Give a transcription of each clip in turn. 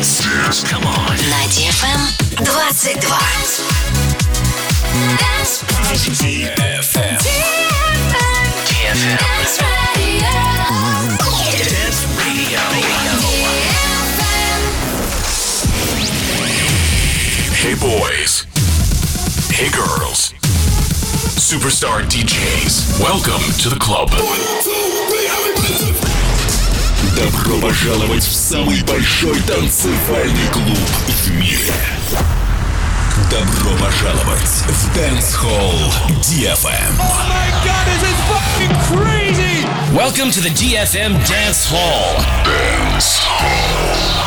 Come on. На DFM 22. DFM. Dance Radio. Hey boys. Hey girls. Superstar DJs. Welcome to the club. Добро пожаловать в самый большой танцевальный клуб в мире. Добро пожаловать в Dance Hall DFM. Oh my god, this is fucking crazy! Welcome to the DFM Dance Hall. Dance Hall.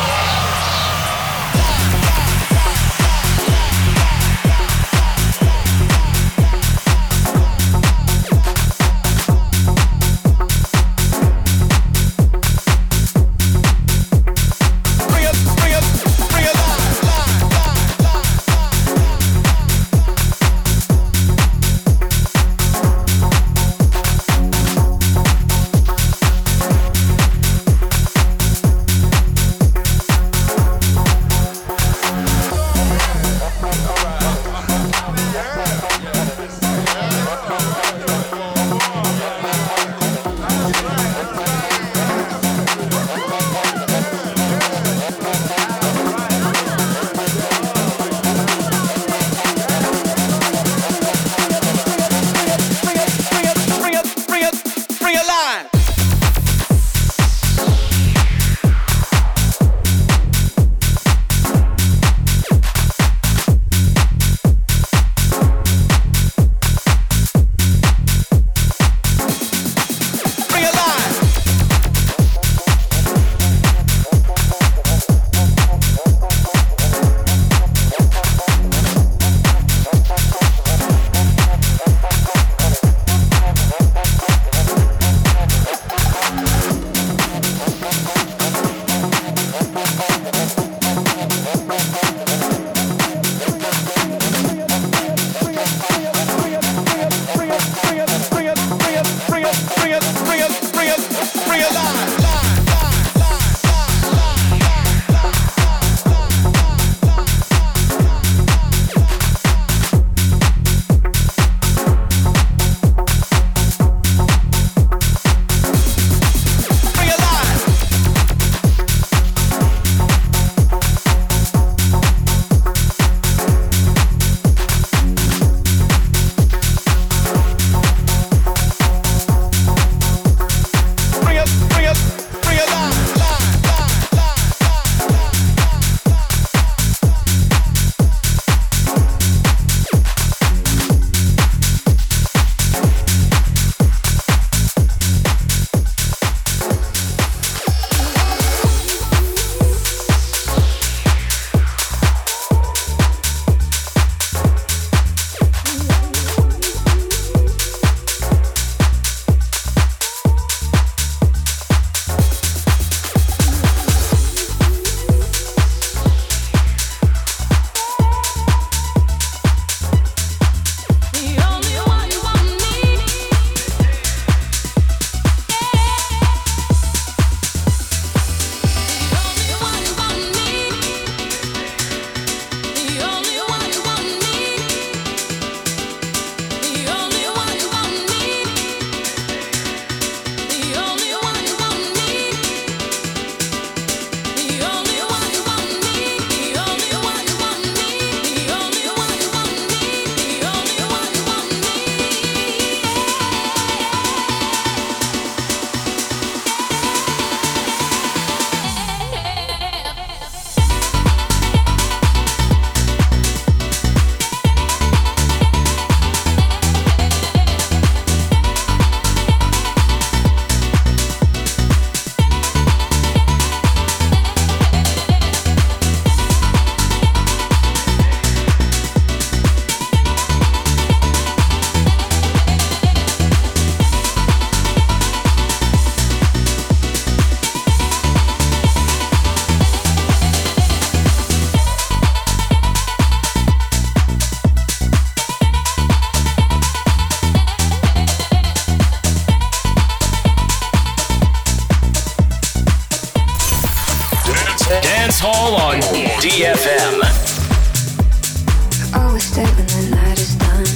Dance Hall on DFM. Always stay when the night is done.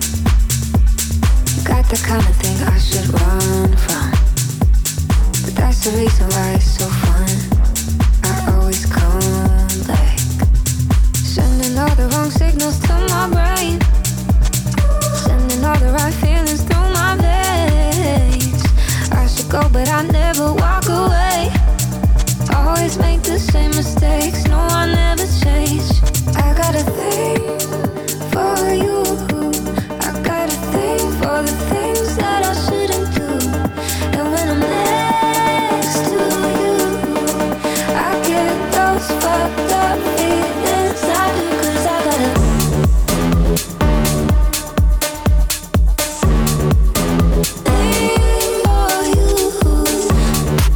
Got the kind of thing I should run from, but that's the reason why it's so fun. I always come back, sending all the wrong signals to my brain, sending all the right feelings through my veins. I should go, but I never walk away. Always make the same mistakes. No, I never change. I got a thing for you. I got a thing for the things that I shouldn't do. And when I'm next to you, I get those fucked up feelings I do. 'Cause I got a thing for you.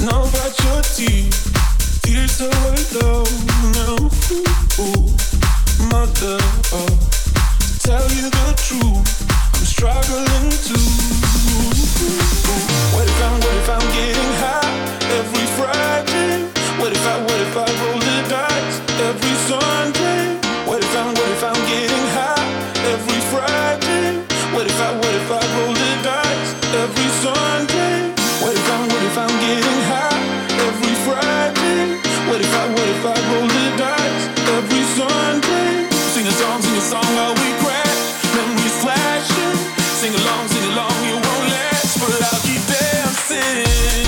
know about your tears. Tears are low now. Ooh, mother, to tell you the truth, I'm struggling too. What if I'm getting high every Friday? What if I roll the dice every Sunday? What if I'm getting high every Friday? What if I roll the dice every Sunday? What if I'm getting high every Friday? What if I roll the dice every Sunday? Sing a song while we crash, memories flashing. Sing along, you won't last, but I'll keep dancing.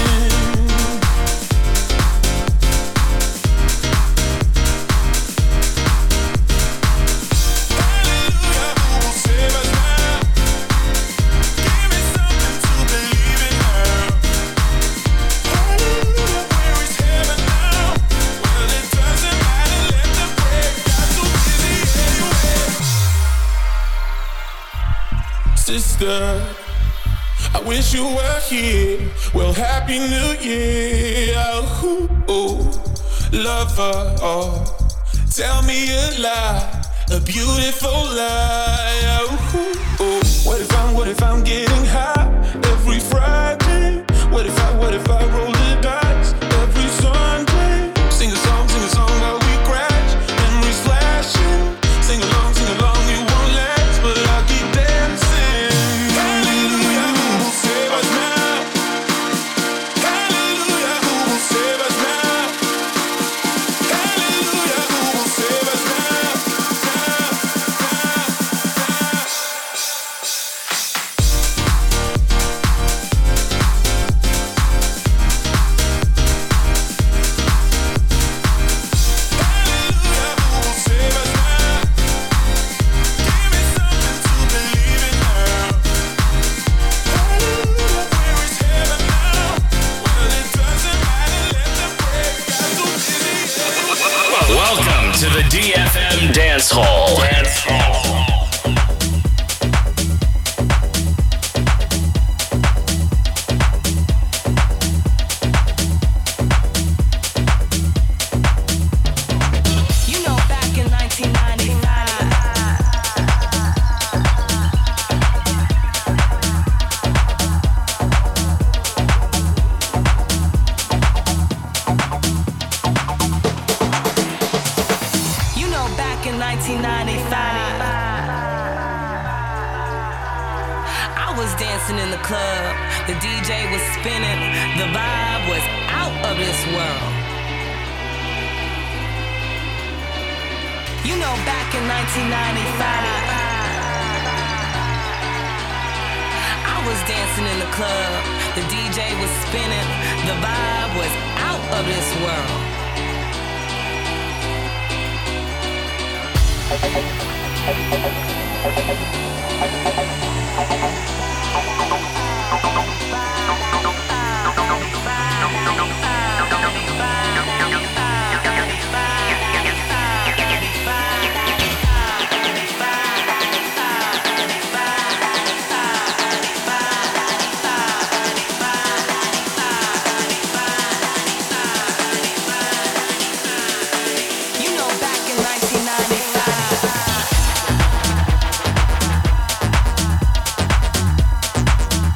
Sister, I wish you were here. Well, Happy New Year. Ooh, lover, tell me a lie, a beautiful lie. Ooh, what if I'm getting high every Friday? What if I roll the dice every Sunday? Sing a song while we crash, memories flashing. Sing along, you won't last, but I'll keep dancing. Welcome to the DFM Dance Hall. You know, back in 1995, I was dancing in the club, the DJ was spinning, the vibe was out of this world. You know, back in 1995, I was dancing in the club, the DJ was spinning, the vibe was out of this world. You know, back in 1995.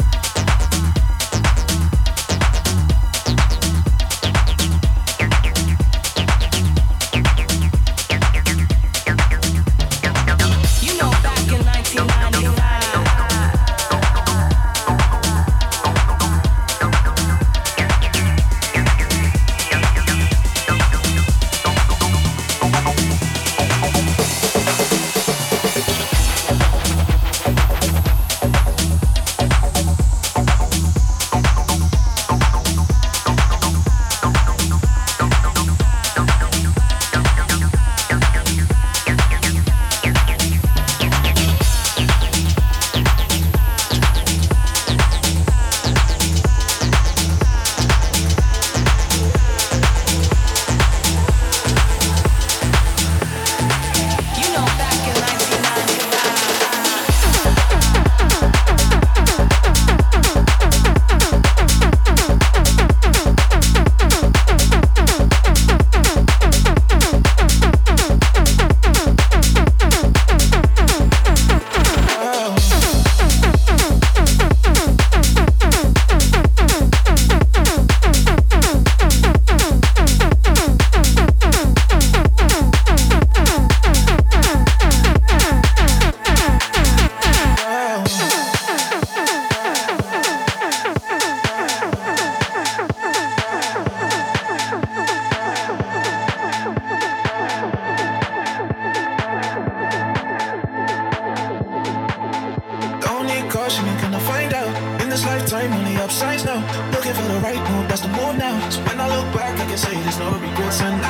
the right move, that's the move now. So when I look back, I can say there's no regrets. And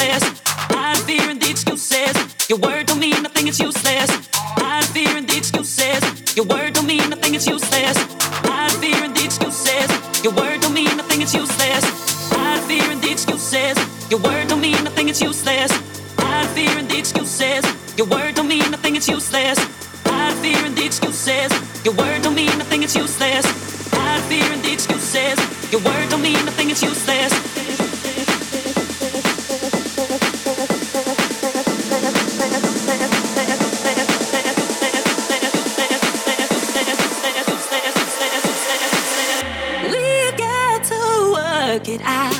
useless. I'm fearing the excuses. Your word don't mean nothing, it's useless. I'm fearing the excuses. Your word don't mean nothing, it's useless. I'm fearing the excuses. Your word don't mean nothing, it's useless. I'm fearing the excuses. Your word don't mean nothing, it's useless. I'm fearing the excuses. Your word don't mean nothing, it's useless. I'm fearing the excuses. Your word don't mean nothing, it's useless. I'm fearing the excuses. Your word don't mean nothing, it's useless. Work it out.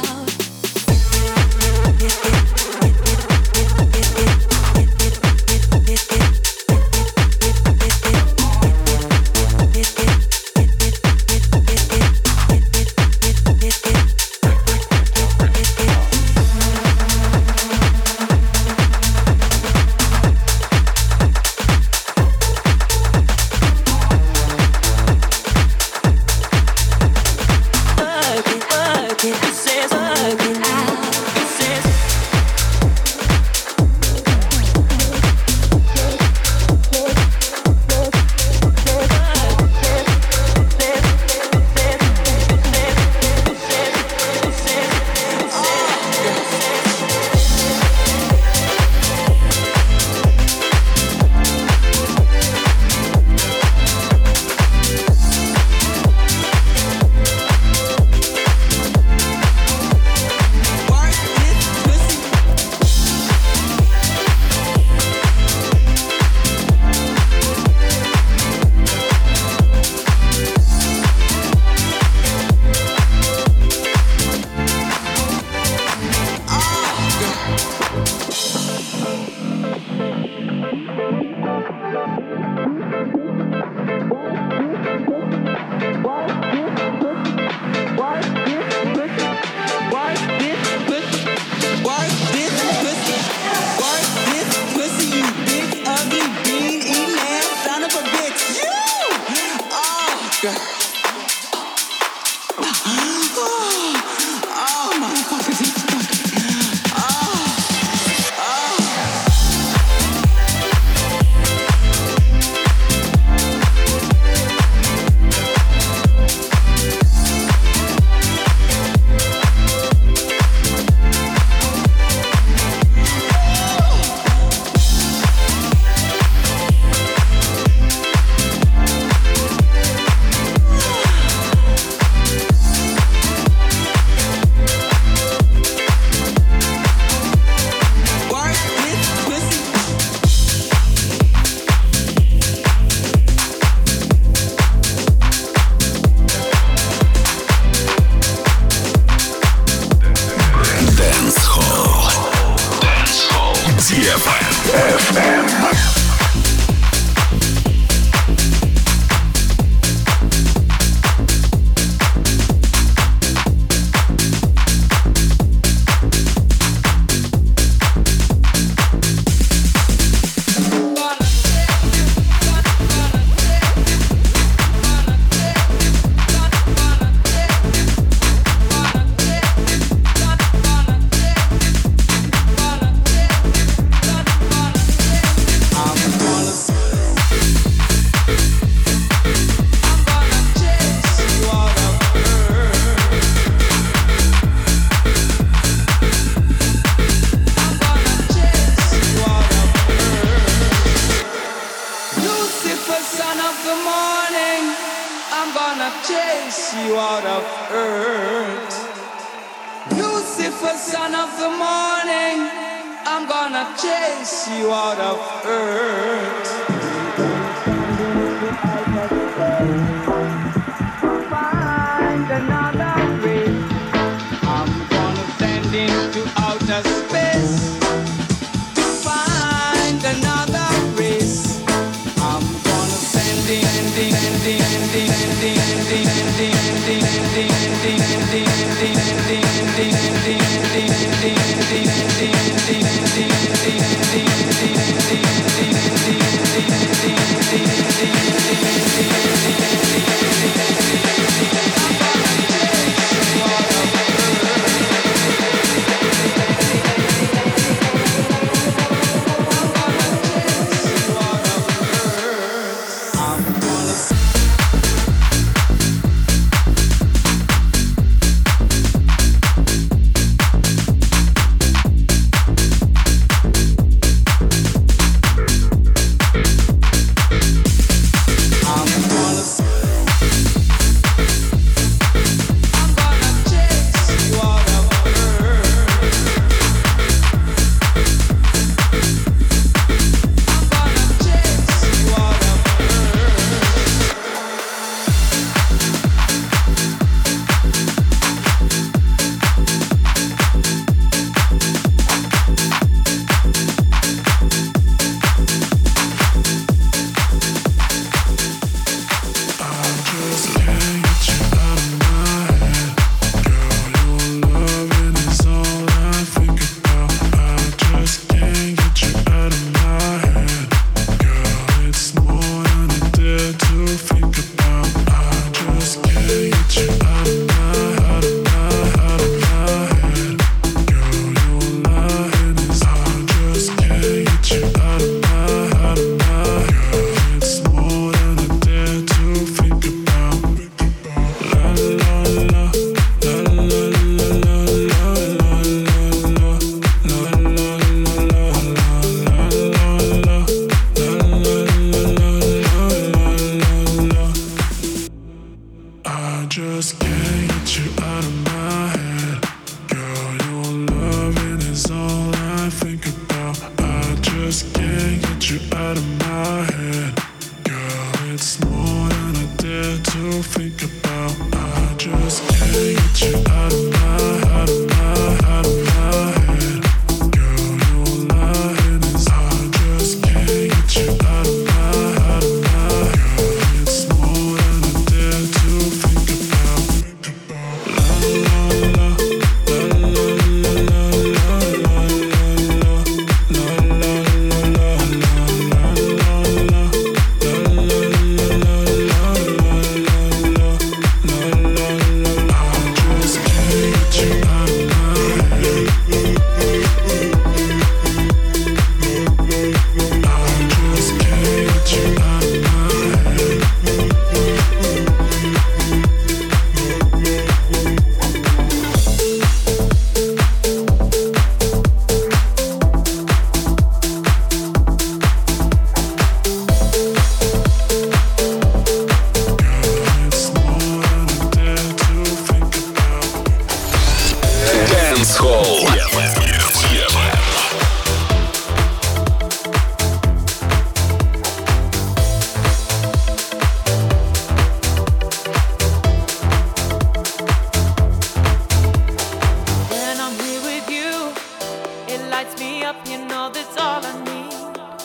lights me up, you know that's all I need.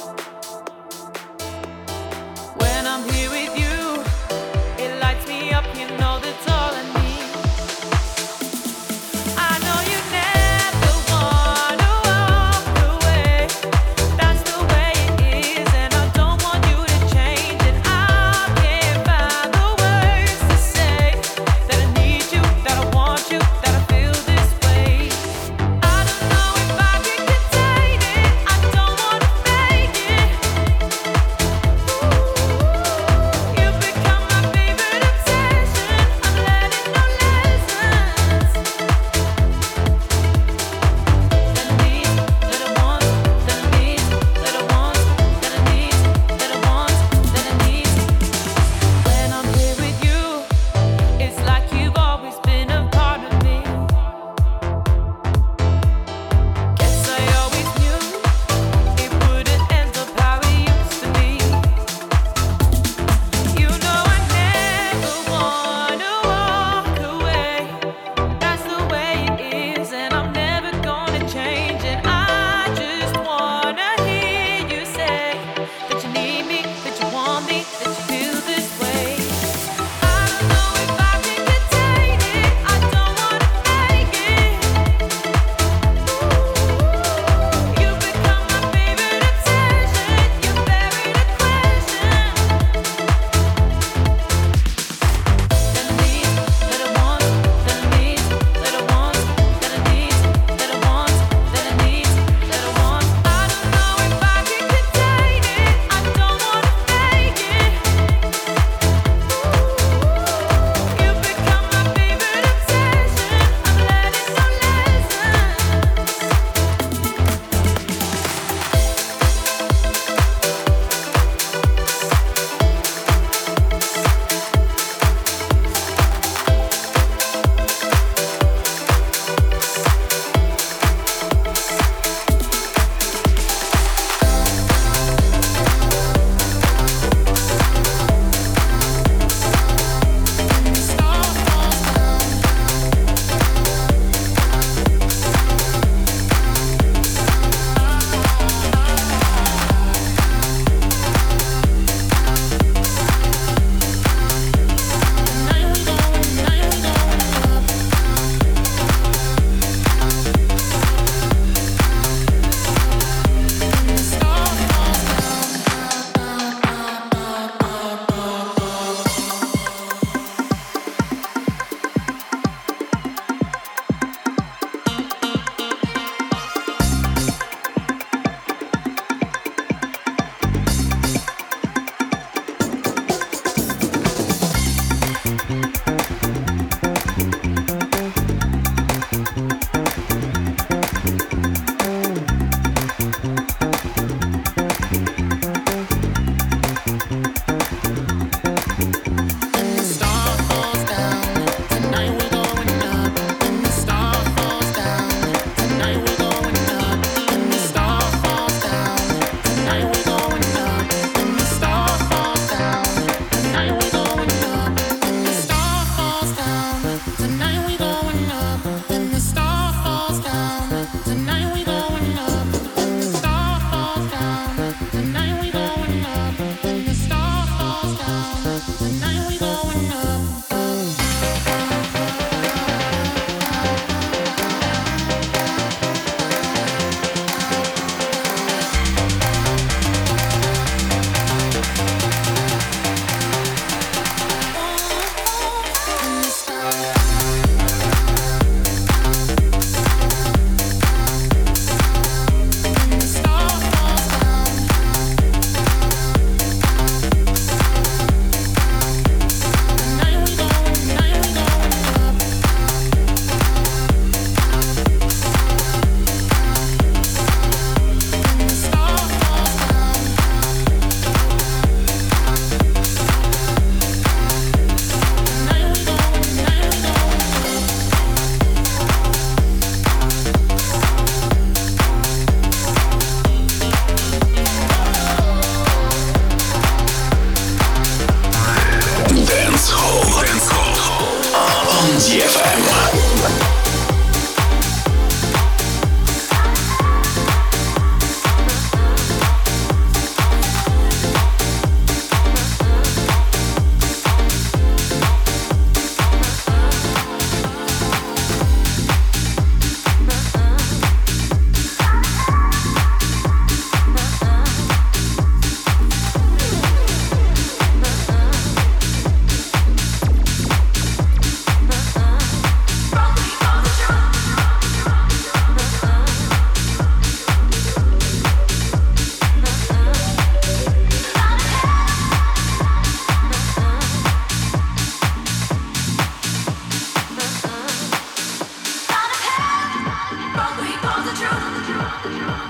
When I'm here with you, it lights me up, you know that's all I need. I know you never wanna walk away. That's the way it is, and I don't want you to change it. I can't find the words to say that I need you, that I want you, that I feel this way. I don't know if I can contain it. I don't wanna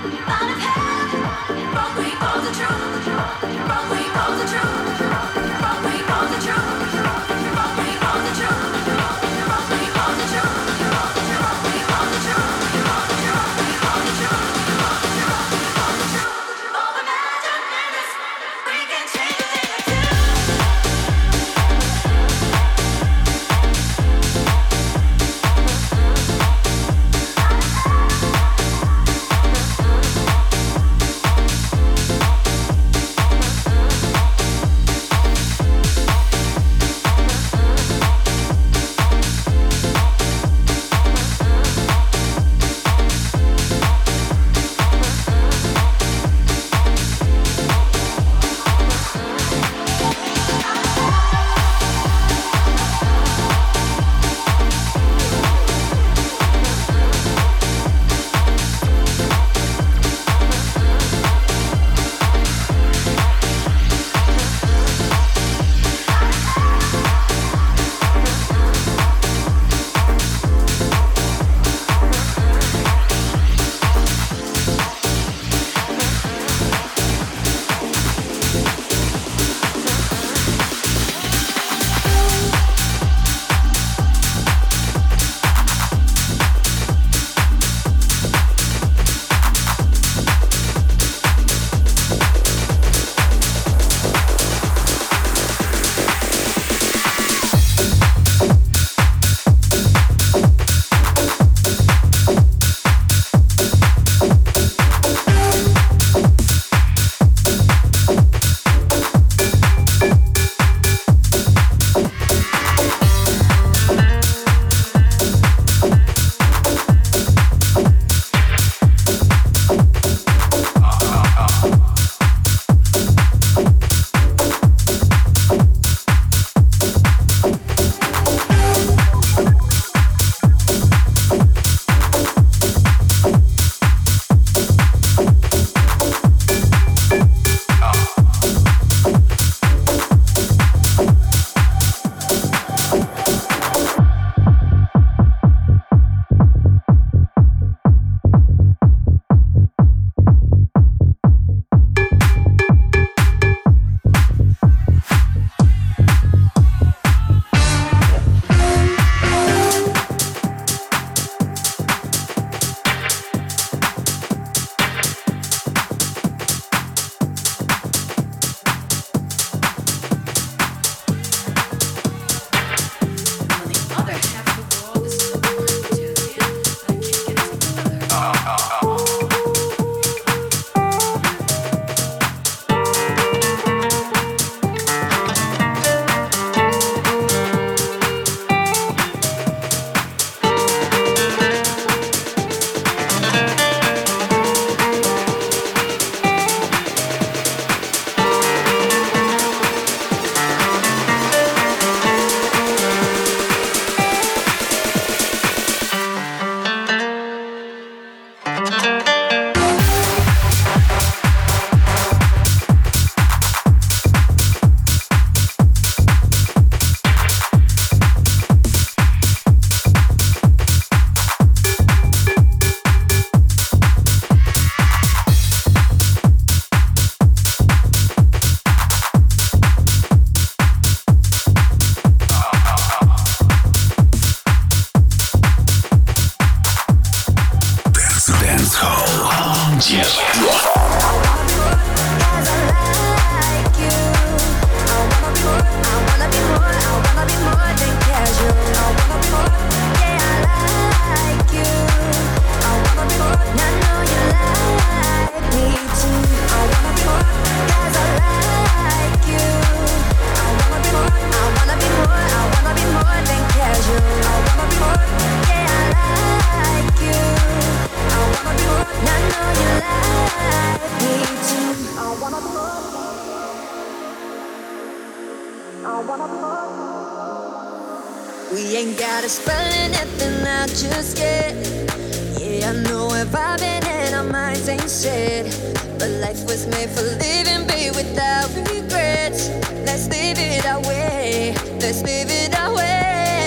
We ain't gotta spell anything out just yet. Yeah, I know we're vibing and our minds ain't set. But life was made for living, babe, without regrets. Let's live it our way. Let's live it our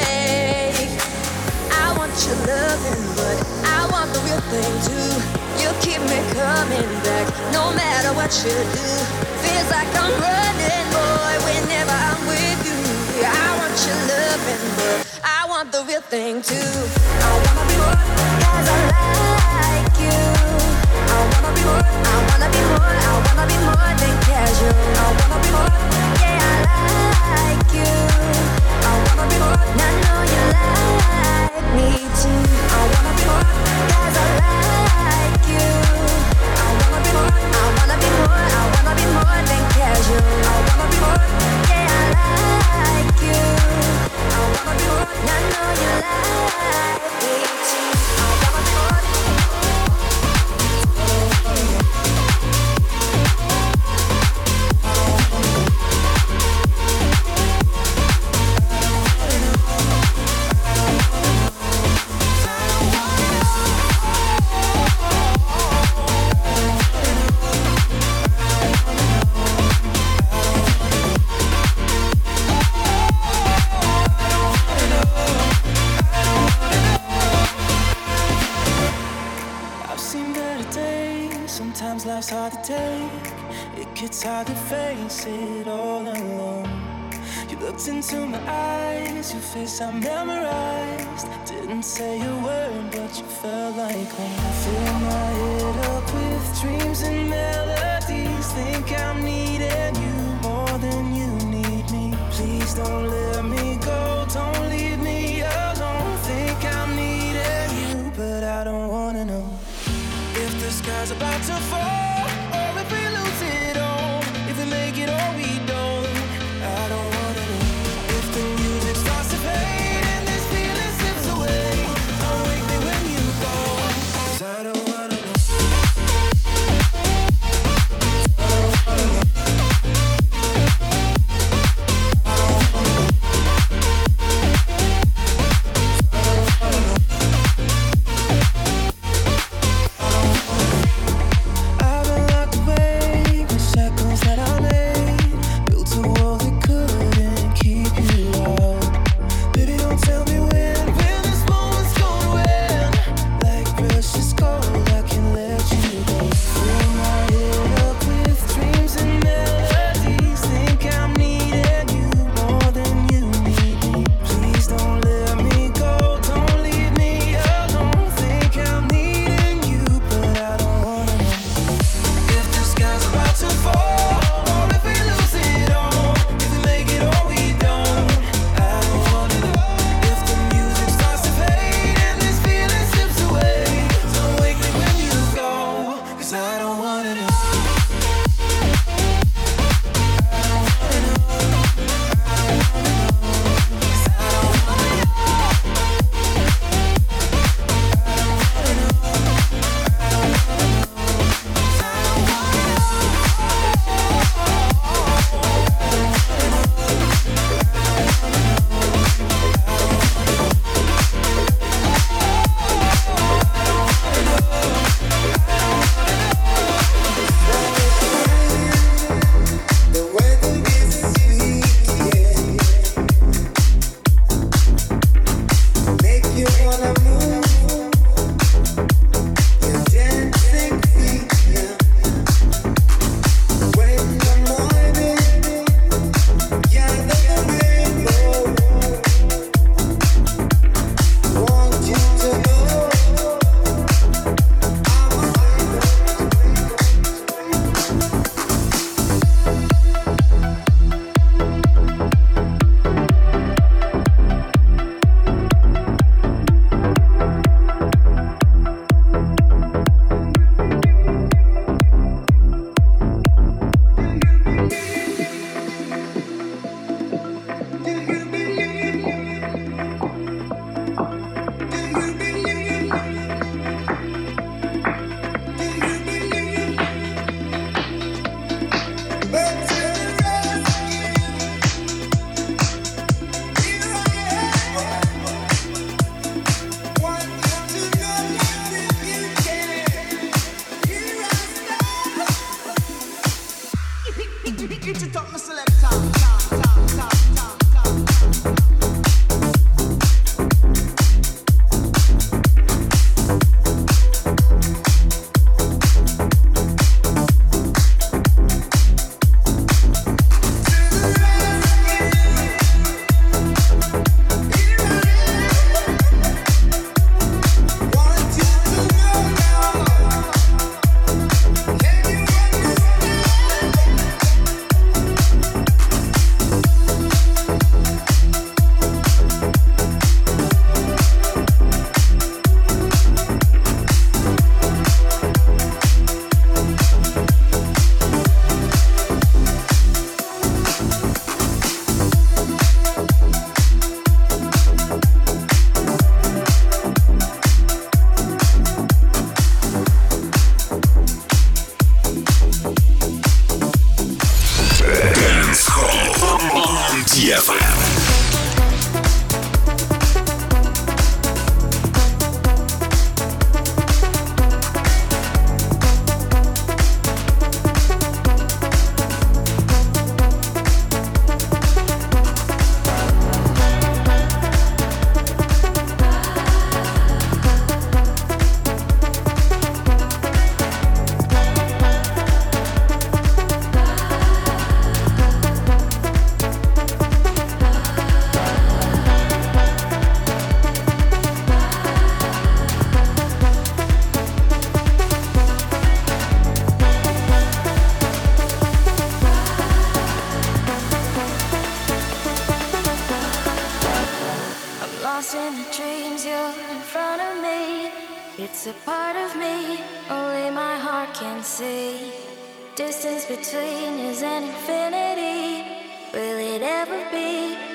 way. I want your loving, but I want the real thing too. You keep me coming back, no matter what you do. Feels like I'm running, boy, whenever I'm with you. I want your loving, but I want the real thing too. I wanna be more, 'cause I like you. I wanna be more, I wanna be more, I wanna be more than casual. I wanna be more, yeah, I like you. I wanna be more, and I know you like me too. I wanna be more, 'cause I like you. I wanna be more, I wanna be more, I wanna be more than casual. I wanna be more, yeah, I like you. I wanna be more, and I know you like me too. I wanna be more. Sometimes life's hard to take. It gets hard to face it all alone. You looked into my eyes, your face I memorized. Didn't say a word, but you felt like home. Fill my head up with dreams and melodies. Think I'm needing you more than you need me. Please don't let me go, don't leave me alone. Think I'm needing you, but I don't wanna know if the sky's about to fall, or if we lose it all, if we make it or we don't. I don't wanna know if the music starts to fade and this feeling slips away. Don't wake me when you go, 'cause I don't wanna know. DFM. It's a part of me, only my heart can see. Distance between is an infinity. Will it ever be?